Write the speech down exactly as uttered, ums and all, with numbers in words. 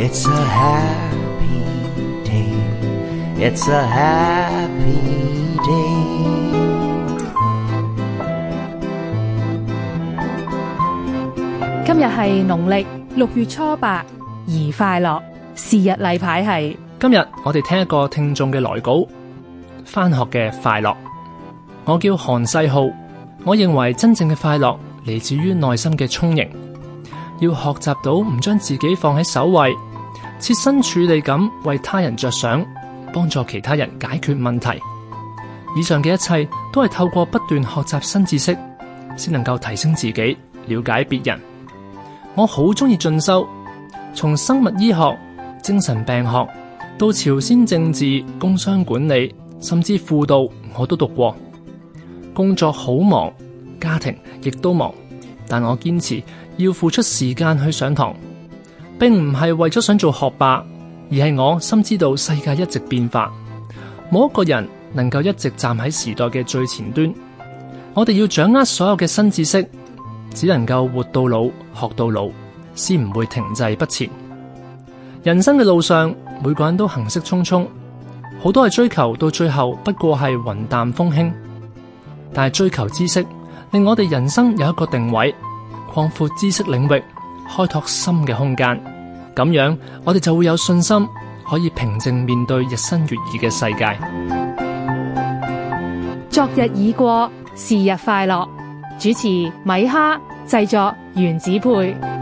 It's a happy day. It's a happy day. 今日係農曆六月初八，宜快樂。是日例牌係今日我哋聽一個聽眾嘅來稿，返學嘅快樂。我叫韓世浩，我認為真正嘅快樂嚟自於內心嘅充盈，要學習到唔將自己放喺首位，設身處地咁為他人着想，幫助其他人解決問題。以上嘅一切都係透過不斷學習新知識，先能夠提升自己，了解別人。我好中意進修，從生物醫學、精神病學到朝鮮政治、工商管理，甚至輔導，我都讀過。工作好忙，家庭亦都忙，但我堅持要付出時間去上堂，並唔係為咗想做學霸，而係我深知道世界一直變化，冇一個人能夠一直站喺時代嘅最前端。我哋要掌握所有嘅新知識，只能夠活到老，學到老，先唔會停滯不前。人生嘅路上，每個人都行色匆匆，好多係追求，到最後不過係雲淡風輕。但係追求知識，令我哋人生有一個定位，擴闊知識領域，開拓新嘅空間。咁樣，我哋就會有信心，可以平靜面對日新月異嘅世界。 昨日已過，是日快樂。主持米哈，製作原子配。